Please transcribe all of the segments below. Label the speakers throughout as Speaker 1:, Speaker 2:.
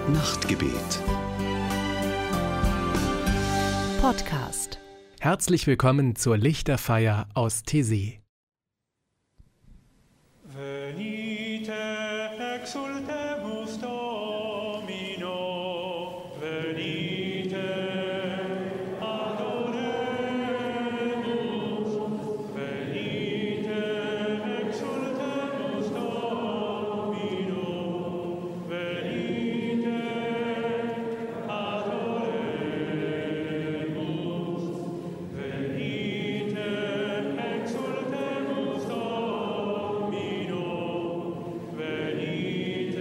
Speaker 1: Nachtgebet.
Speaker 2: Podcast.
Speaker 3: Herzlich willkommen zur Lichterfeier aus Taizé.
Speaker 4: Venite, exultemus Domino, venite, adoremus, venite, exultemus Domino, venite, adoremus, venite, exultemus Domino, venite,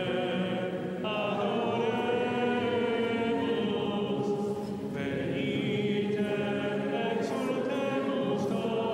Speaker 4: adoremus, venite, exultemus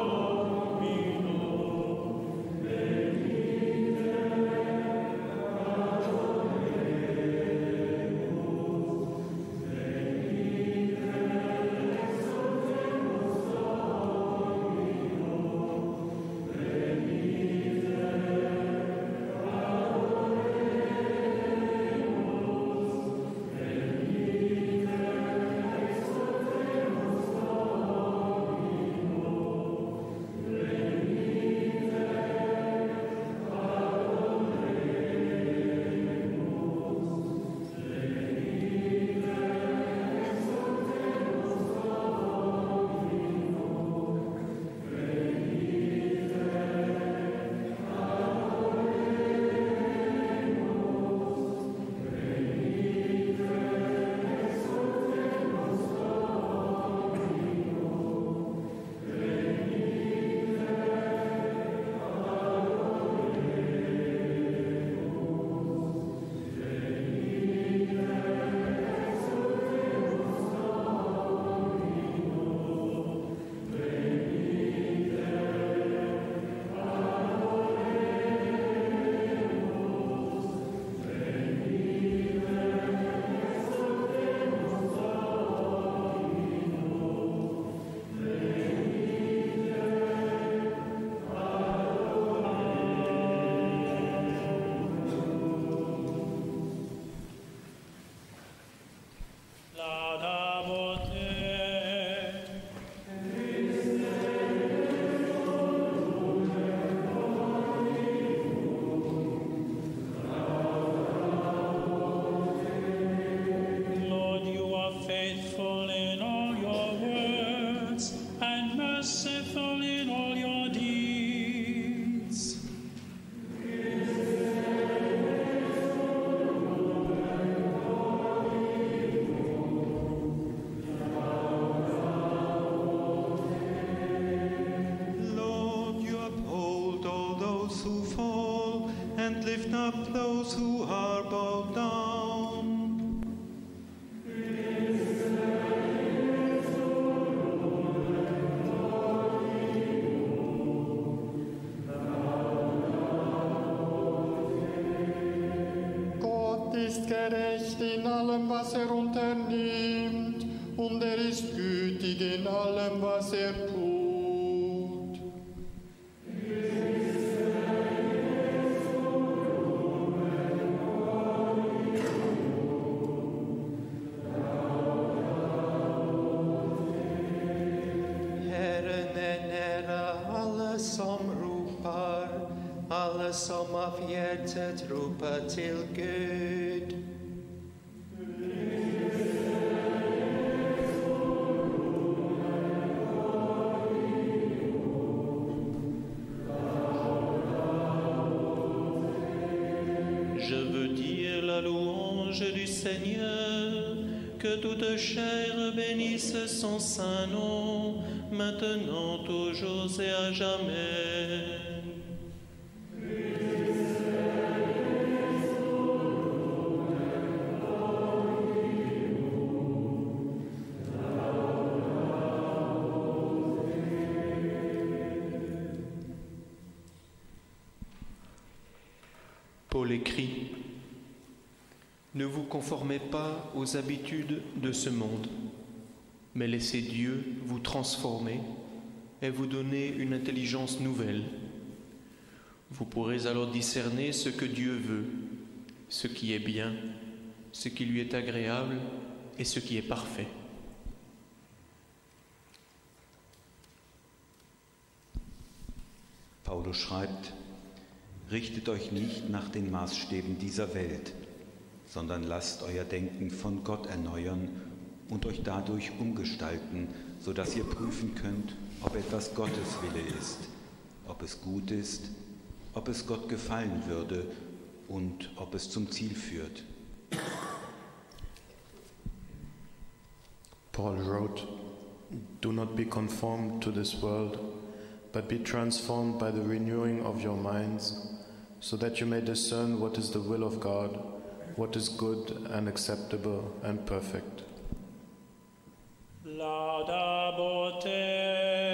Speaker 4: Lord, you are faithful in all your words and merciful in all your deeds.
Speaker 5: Lord, you uphold all those who fall and lift up those who are bowed down.
Speaker 6: Gott ist gerecht in allem, was er unternimmt, und er ist gütig in allem, was er tut.
Speaker 5: Herren är nära alla som ropar, alla som av hjärtat ropar till Gud.
Speaker 4: Je veux dire la louange du Seigneur, que toute chair bénisse son saint nom, maintenant, toujours et à jamais.
Speaker 7: Paul écrit : Ne vous conformez pas aux habitudes de ce monde, mais laissez Dieu vous transformer et vous donner une intelligence nouvelle. Vous pourrez alors discerner ce que Dieu veut, ce qui est bien, ce qui lui est agréable et ce qui est parfait.
Speaker 5: Paulus schreibt, richtet euch nicht nach den Maßstäben dieser Welt, sondern lasst euer Denken von Gott erneuern und euch dadurch umgestalten, sodass ihr prüfen könnt, ob etwas Gottes Wille ist, ob es gut ist, ob es Gott gefallen würde und ob es zum Ziel führt.
Speaker 1: Paul wrote, "Do not be conformed to this world, but be transformed by the renewing of your minds, so that you may discern what is the will of God, what is good and acceptable and perfect."
Speaker 4: Laudabot te.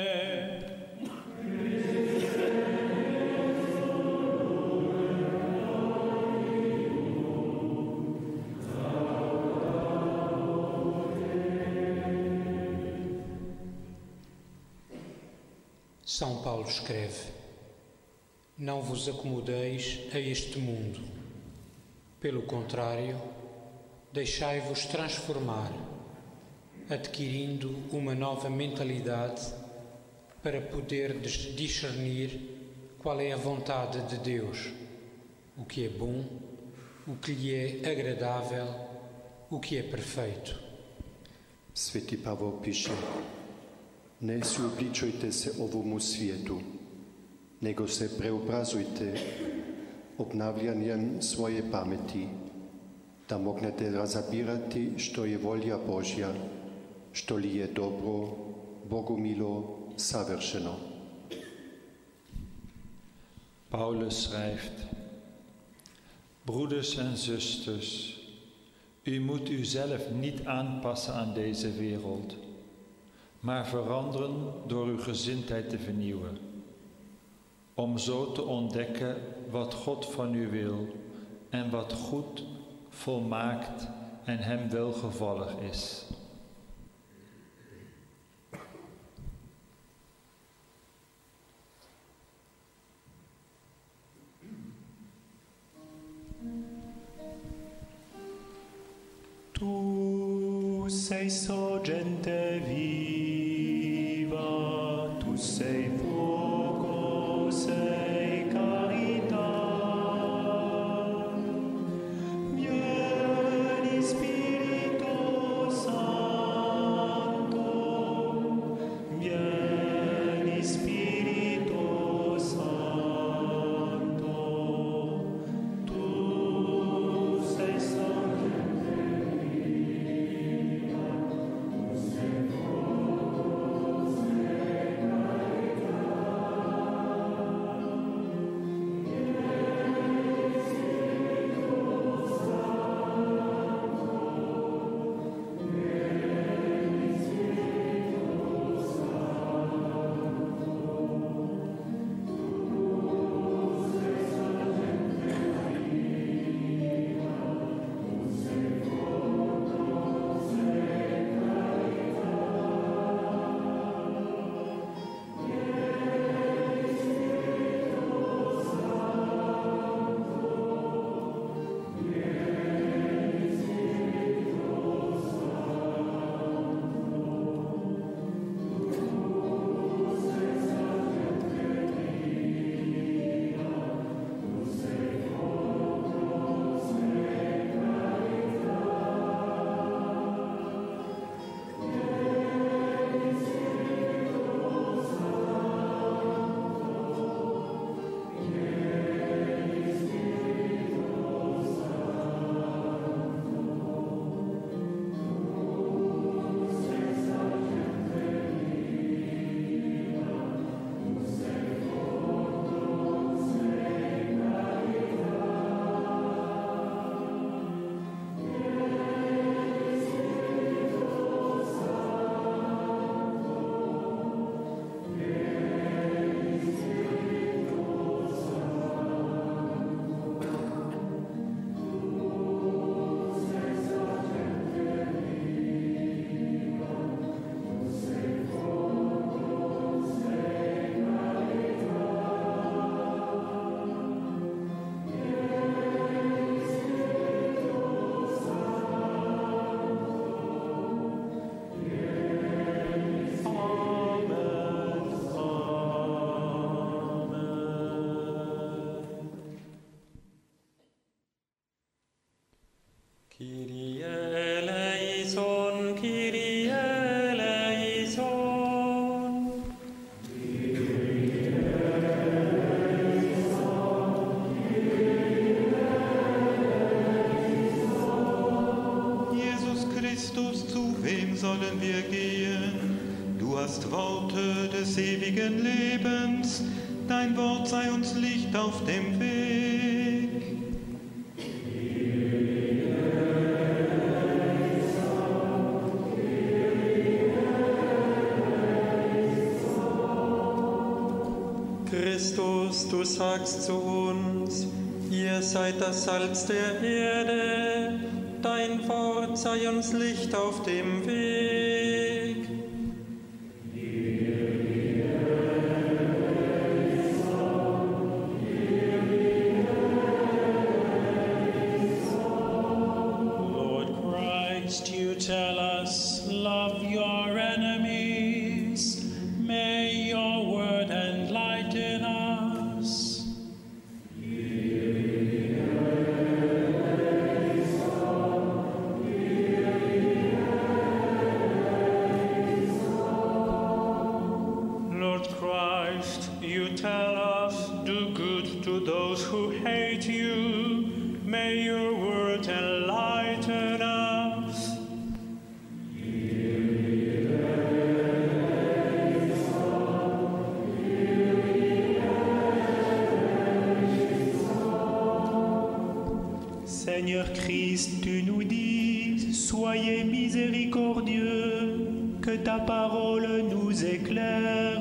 Speaker 8: São Paulo escreve: Não vos acomodeis a este mundo. Pelo contrário, deixai-vos transformar, adquirindo uma nova mentalidade para poderdes discernir qual é a vontade de Deus, o que é bom, o que lhe é agradável, o que é perfeito.
Speaker 9: Sveti Pavol piše, ne suobličujte se ovomu svijetu, nego se preobrazujte obnavljanjem svoje pameti, da mognete razabirati što je volja Božja, što li je dobro, bogumilo, savršeno.
Speaker 10: Paulus schrijft, broeders en zusters, u moet uzelf niet aanpassen aan deze wereld, maar veranderen door uw gezindheid te vernieuwen, om zo te ontdekken wat God van u wil en wat goed, volmaakt en hem welgevallig is.
Speaker 6: Tu sei sorgente viva, tu sei fuoco, sei carità. Vieni Spirito Santo, vieni Spirito Santo, tu sei sorgente viva, tu sei fuoco, sei carità.
Speaker 5: sollen wir gehen? Du hast Worte des ewigen Lebens, dein Wort sei uns Licht auf dem Weg.
Speaker 11: Christus, du sagst zu uns, ihr seid das Salz der Erde, dein Wort sei uns Licht auf dem Weg.
Speaker 4: Lord Christ, you tell us, love your enemies. May your word enlighten us. Lord Christ, you tell us, do good to those who hate you. May your word enlighten us.
Speaker 11: Seigneur Christ, tu nous dis, soyez miséricordieux, que ta parole nous éclaire.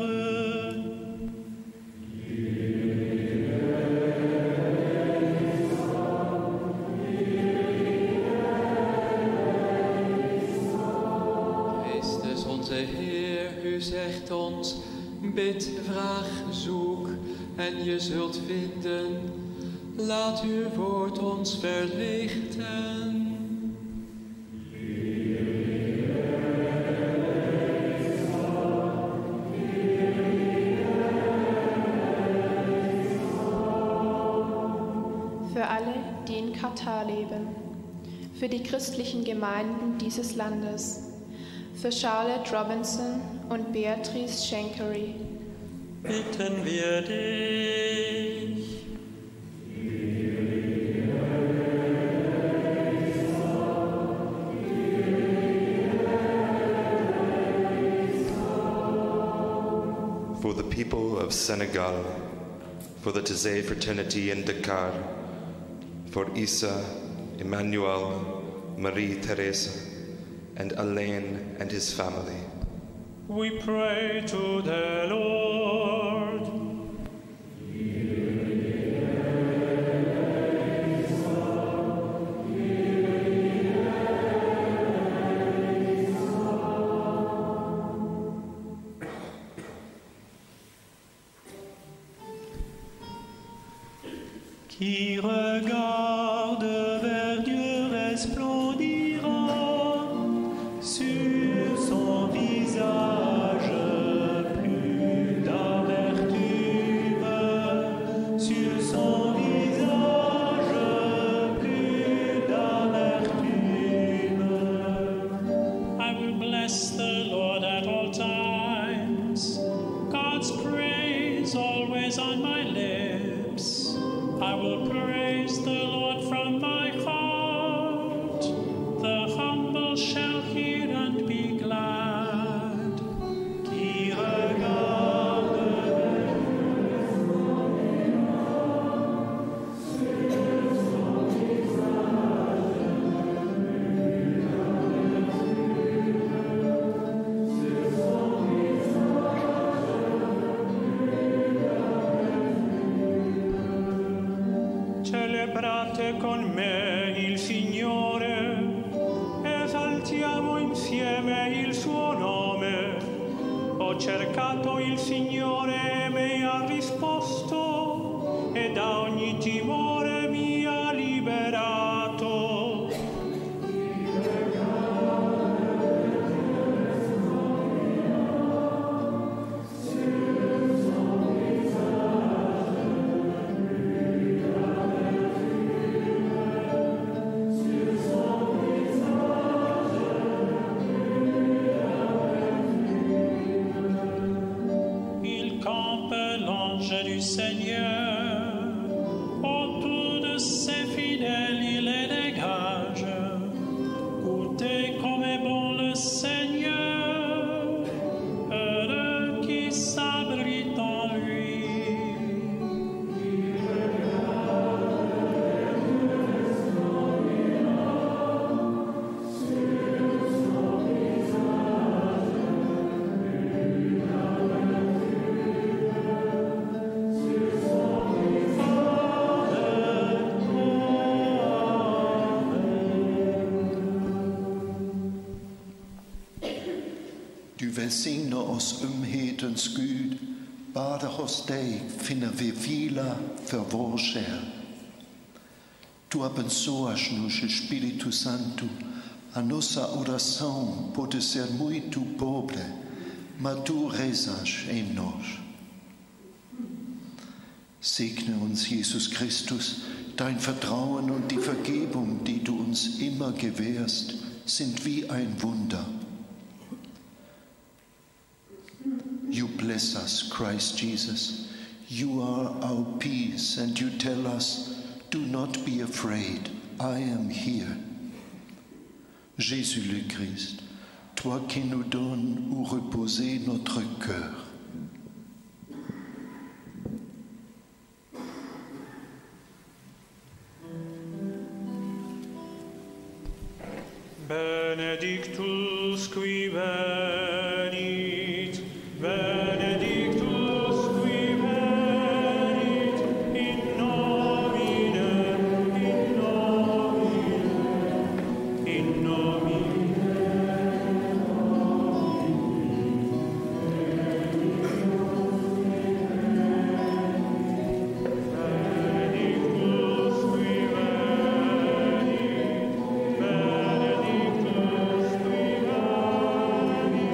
Speaker 12: Christus onze Heer, u zegt ons, bid, vraag, zoek en je zult vinden. Laat uw woord ons verlichten.
Speaker 13: Für alle, die in Katar leben, für die christlichen Gemeinden dieses Landes, für Charlotte Robinson und Beatrice Schenkery,
Speaker 11: Bitten wir dich.
Speaker 14: For the people of Senegal, for the Taizé fraternity in Dakar, for Isa, Emmanuel, Marie-Therese, and Alain and his family.
Speaker 4: We pray to the Lord.
Speaker 11: Qui regarde vers Dieu resplendira sur son visage plus d'amertume, sur son visage plus d'amertume.
Speaker 4: I will bless the Lord at all times. God's praise always on my lips. I will praise the Lord from my heart. The humble shall hear and be glad.
Speaker 11: Qui regarde
Speaker 4: Celebrate con me il Signore, esaltiamo insieme il suo nome. Ho cercato il Signore e mi ha risposto, e da ogni timore mi ha liberato. Il campe l'ange du Seigneur, autour de ses fidèles il les dégage. Goûtez comme est bon le Seigneur.
Speaker 15: välsigna oss hedens Gud, bara hos dig finner vi vila för vår själ. Tu abençoas-nos, Espírito Santo. A nossa oração pode ser muito pobre, mas tu rezas em nós. Segne uns, Jesus Christus, dein Vertrauen und die Vergebung, die du uns immer gewährst, sind wie ein Wunder. You bless us, Christ Jesus. You are our peace, and you tell us, do not be afraid, I am here. Jésus le Christ, toi qui nous donnes où reposer notre cœur.
Speaker 4: Benedictus qui venit, Benedictus qui venit, in nomine, in nomine, in nomine. Benedictus qui venit,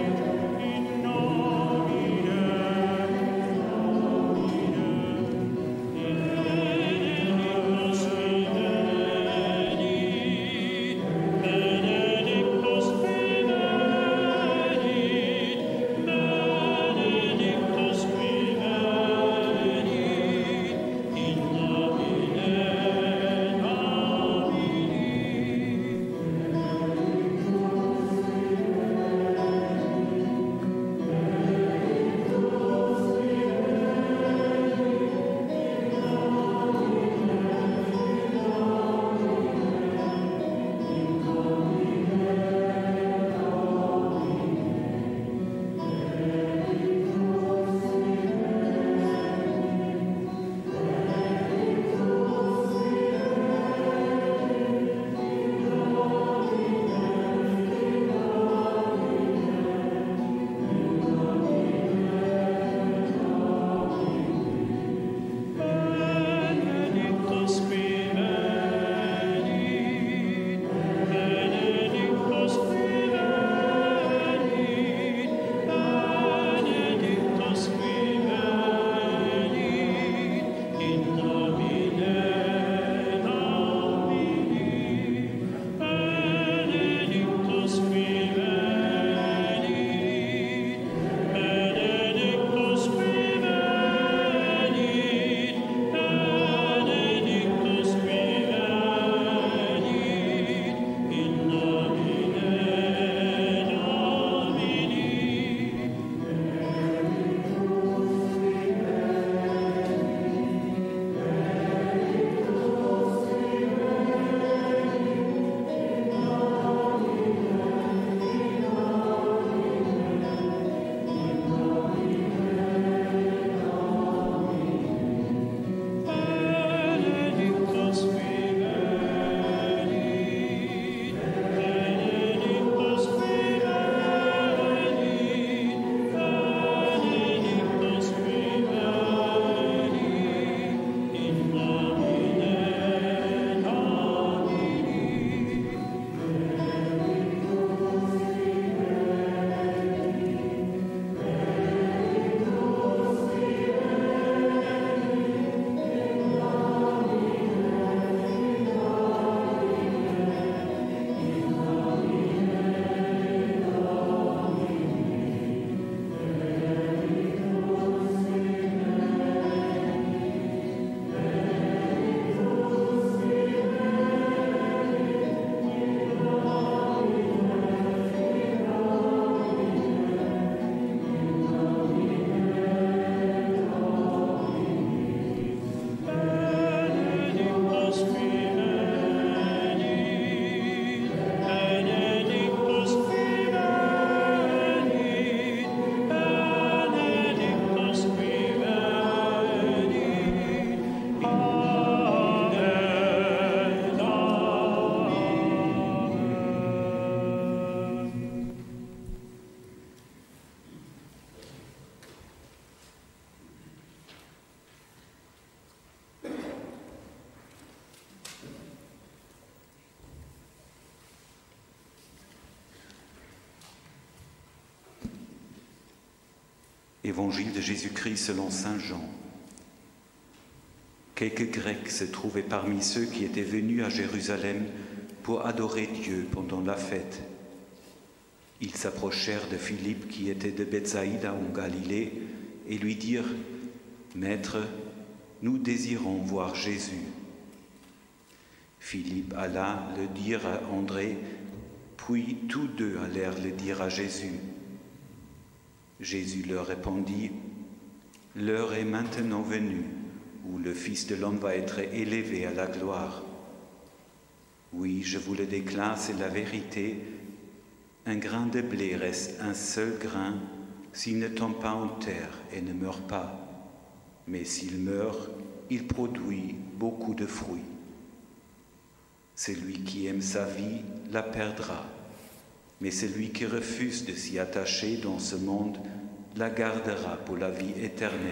Speaker 5: Évangile de Jésus-Christ selon Saint Jean. Quelques Grecs se trouvaient parmi ceux qui étaient venus à Jérusalem pour adorer Dieu pendant la fête. Ils s'approchèrent de Philippe qui était de Bethsaïda en Galilée et lui dirent « Maître, nous désirons voir Jésus. » Philippe alla le dire à André, puis tous deux allèrent le dire à Jésus. Jésus leur répondit, « L'heure est maintenant venue où le Fils de l'homme va être élevé à la gloire. Oui, je vous le déclare, c'est la vérité. Un grain de blé reste un seul grain s'il ne tombe pas en terre et ne meurt pas. Mais s'il meurt, il produit beaucoup de fruits. Celui qui aime sa vie la perdra, mais celui qui refuse de s'y attacher dans ce monde la gardera pour la vie éternelle.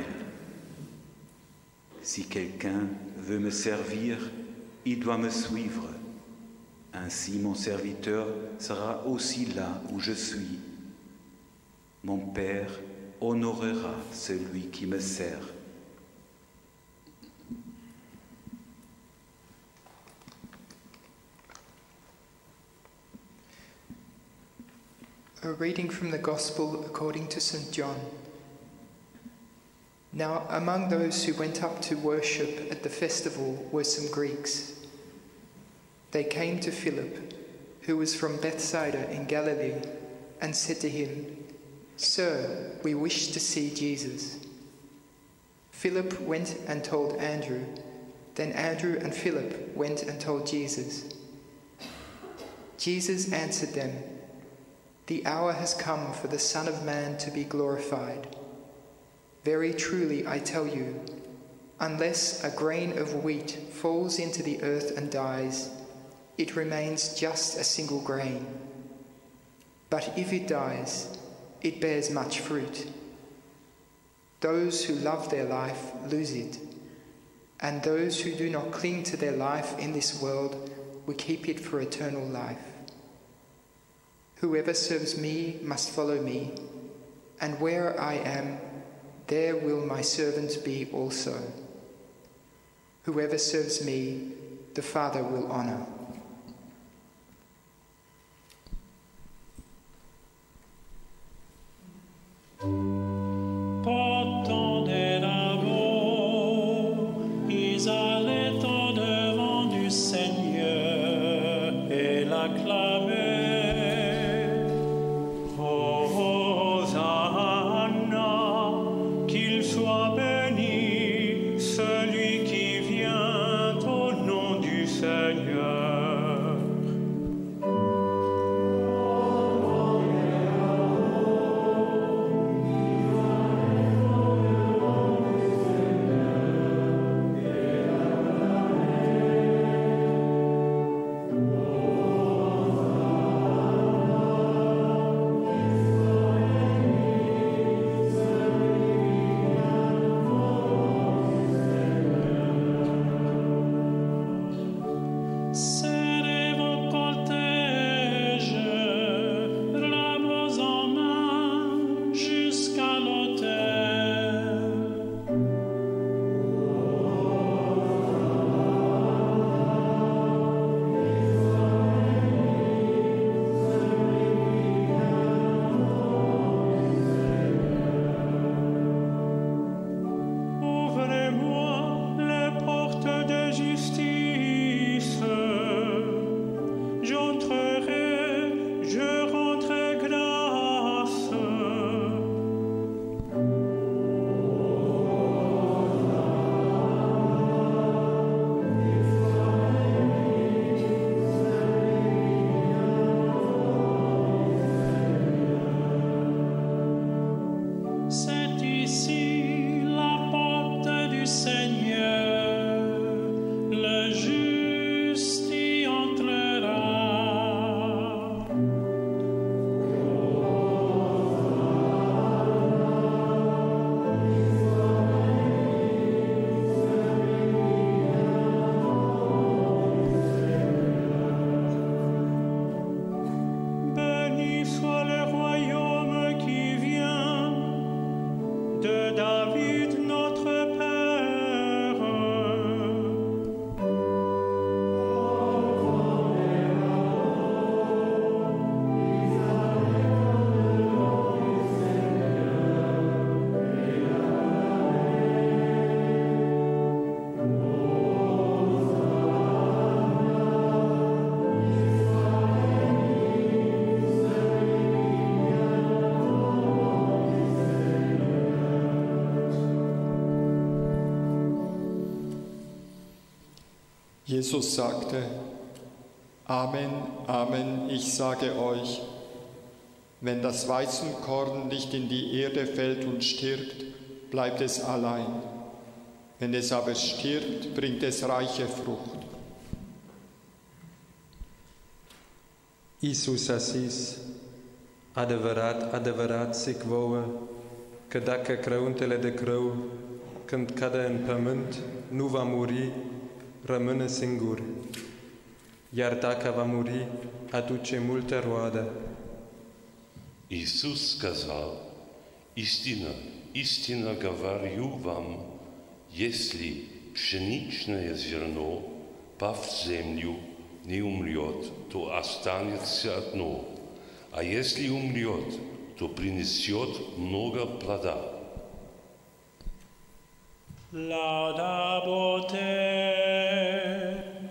Speaker 5: Si quelqu'un veut me servir, il doit me suivre. Ainsi mon serviteur sera aussi là où je suis. Mon Père honorera celui qui me sert.
Speaker 16: A reading from the Gospel according to St. John. Now, among those who went up to worship at the festival were some Greeks. They came to Philip, who was from Bethsaida in Galilee, and said to him, "Sir, we wish to see Jesus." Philip went and told Andrew. Then Andrew and Philip went and told Jesus. Jesus answered them, "The hour has come for the Son of Man to be glorified. Very truly I tell you, unless a grain of wheat falls into the earth and dies, it remains just a single grain. But if it dies, it bears much fruit. Those who love their life lose it, and those who do not cling to their life in this world will keep it for eternal life. Whoever serves me must follow me, and where I am, there will my servant be also. Whoever serves me, the Father will honor."
Speaker 4: Portant la voix, ils allaient au-devant du Seigneur et l'acclamaient. Hosanna, qu'il soit béni, celui qui vient au nom du Seigneur.
Speaker 6: Jesus sagte, Amen, Amen, ich sage euch, wenn das Weizenkorn nicht in die Erde fällt und stirbt, bleibt es allein. Wenn es aber stirbt, bringt es reiche Frucht.
Speaker 11: Iisus a zis, adevărat, adevărat zic vouă, că dacă crăuntele de crău, când cade în pământ, nu va muri, rămâne singur. Iar dacă va muri, aduce multă roadă.
Speaker 17: Иисус сказал, истина, истинно говорю вам, если пшеничное зерно, пав в землю, не умрет, то останется одно, а если умрет, то принесет много плода.
Speaker 4: Laudabo te.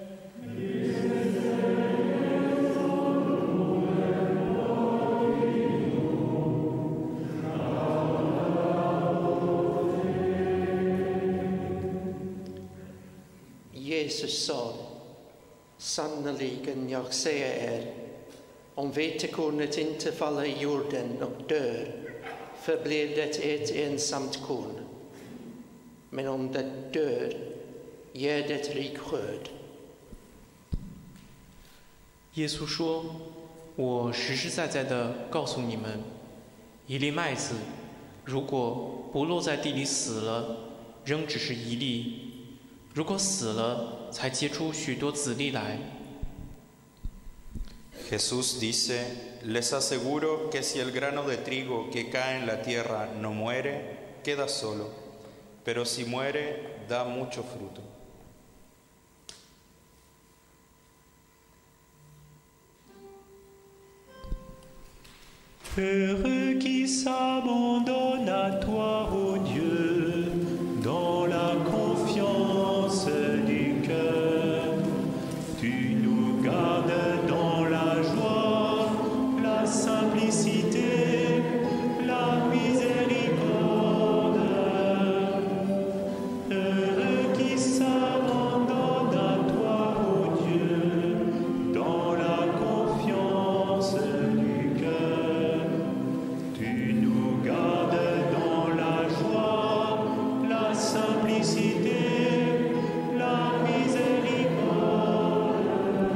Speaker 18: Jesus sa, sannoliken jag säger om vetekornet inte faller i jorden och dör, förblir det ett ensamt korn. Men om det dör, ger det rik skörd.
Speaker 7: 耶稣说：“我实实在在地告诉你们，一粒麦子，如果不落在地里死了，仍只是一粒；如果死了，才结出许多子粒来。”
Speaker 19: Jesús dice, les aseguro que si el grano de trigo que cae en la tierra no muere, queda solo, pero si muere, da mucho fruto.
Speaker 4: Heureux qui s'abandonne à toi, ô Dieu, dans la confiance du cœur. Tu nous gardes dans la joie, la simplicité, la miséricorde. Heureux qui s'abandonne à toi, ô Dieu, dans la confiance du cœur. Tu nous gardes dans la joie, la simplicité, la miséricorde.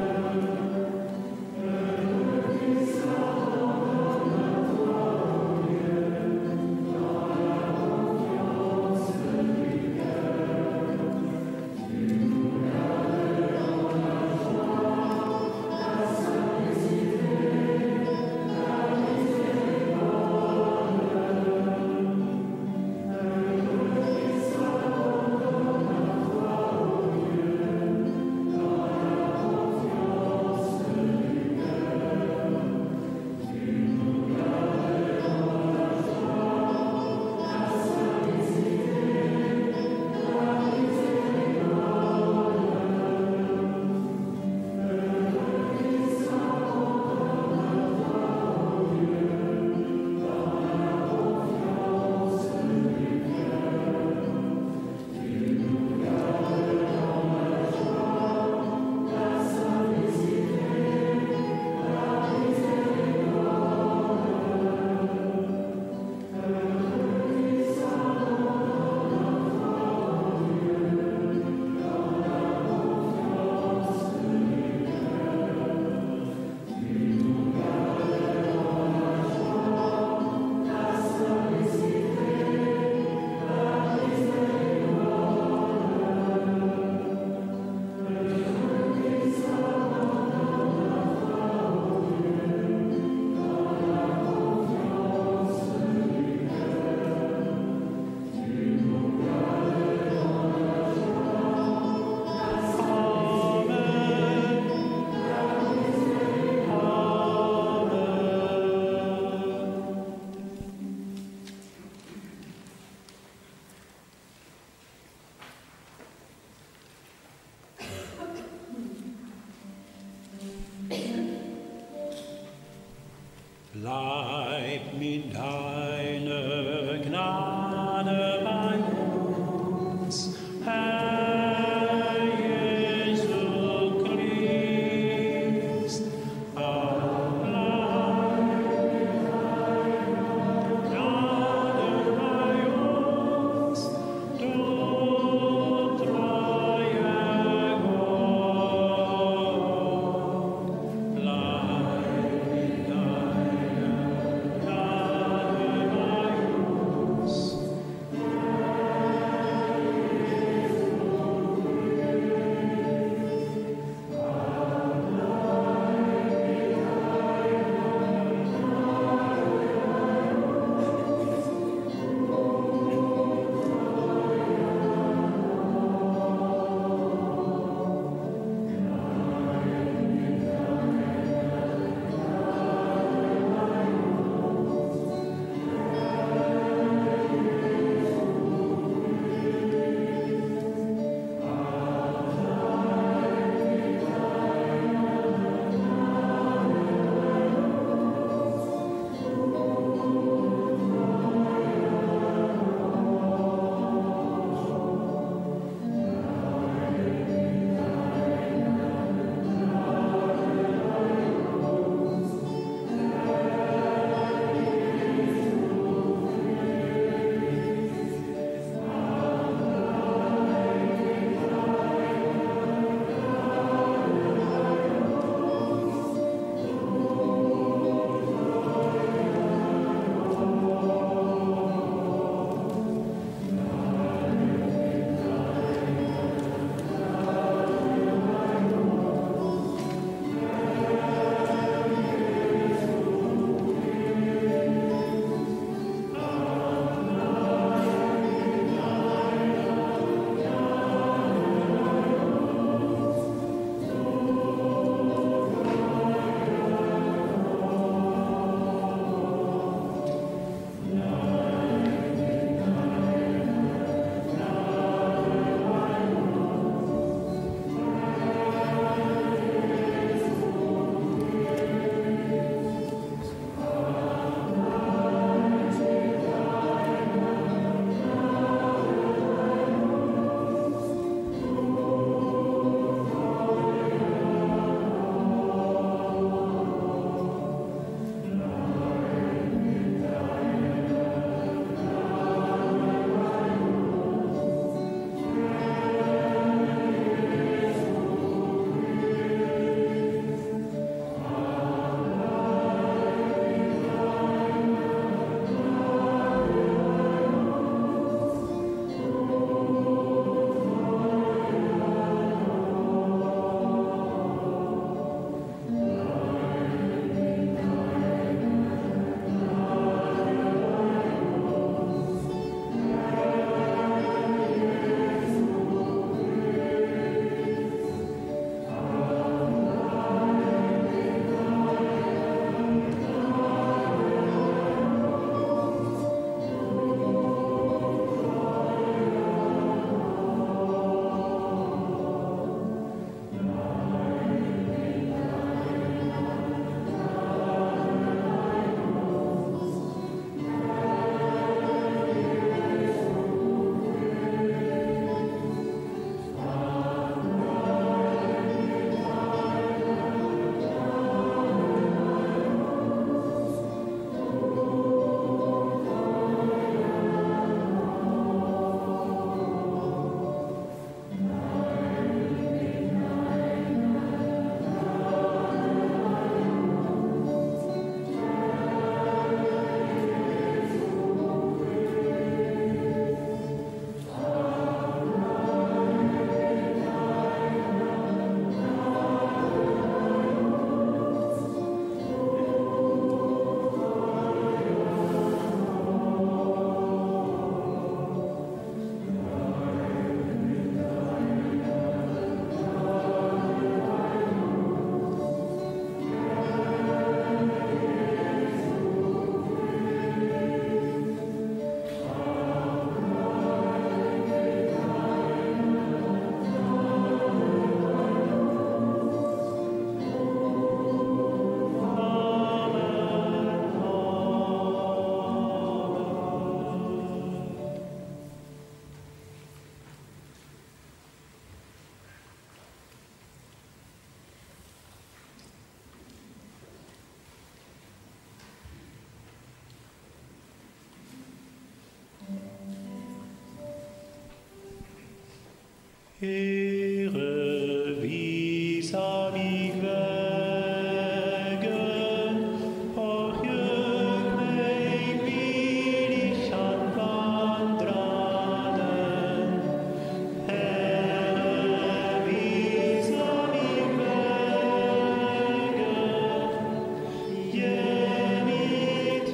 Speaker 4: Bleib mit deiner Gnade bei uns, Herr Jesus. Heere, wie sag ich wegen, och jüng mich will ich anwandraden. Heere, wie sag ich wegen, je mit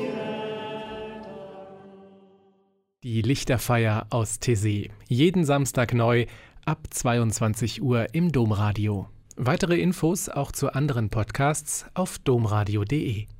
Speaker 3: Die Lichterfeier aus Taizé. Jeden Samstag neu ab 22 Uhr im Domradio. Weitere Infos auch zu anderen Podcasts auf domradio.de.